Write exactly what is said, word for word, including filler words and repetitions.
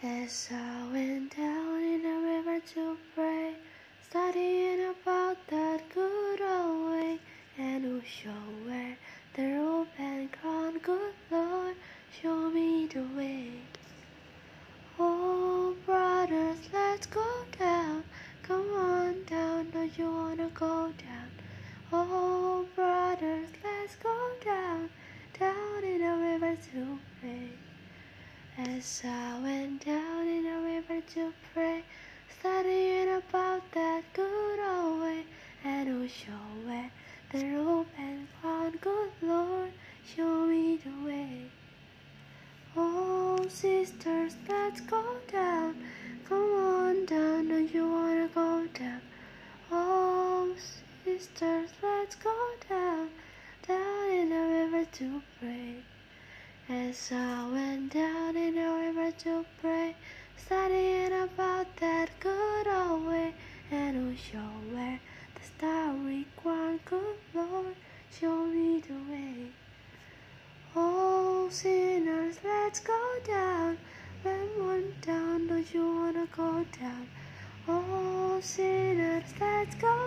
As I went down in the river to pray, studying about that good old way, and who show where the rope and crown, good Lord, show me the way. Oh, brothers, let's go down. Come on down, don't you wanna go down? Oh, brothers, let's go down, down in the river to pray. As I went down in the river to pray, studying about that good old way, and who show where the rope and crown, good Lord, show me the way. Oh, sisters, let's go down. Come on down, don't you wanna go down? Oh, sisters, let's go down, down in the river to pray. As I went down in the river to pray, studying about that good old way, and who show where the starry crown, good Lord, show me the way. Oh, sinners, let's go down. When one down, don't you wanna go down? Oh, sinners, let's go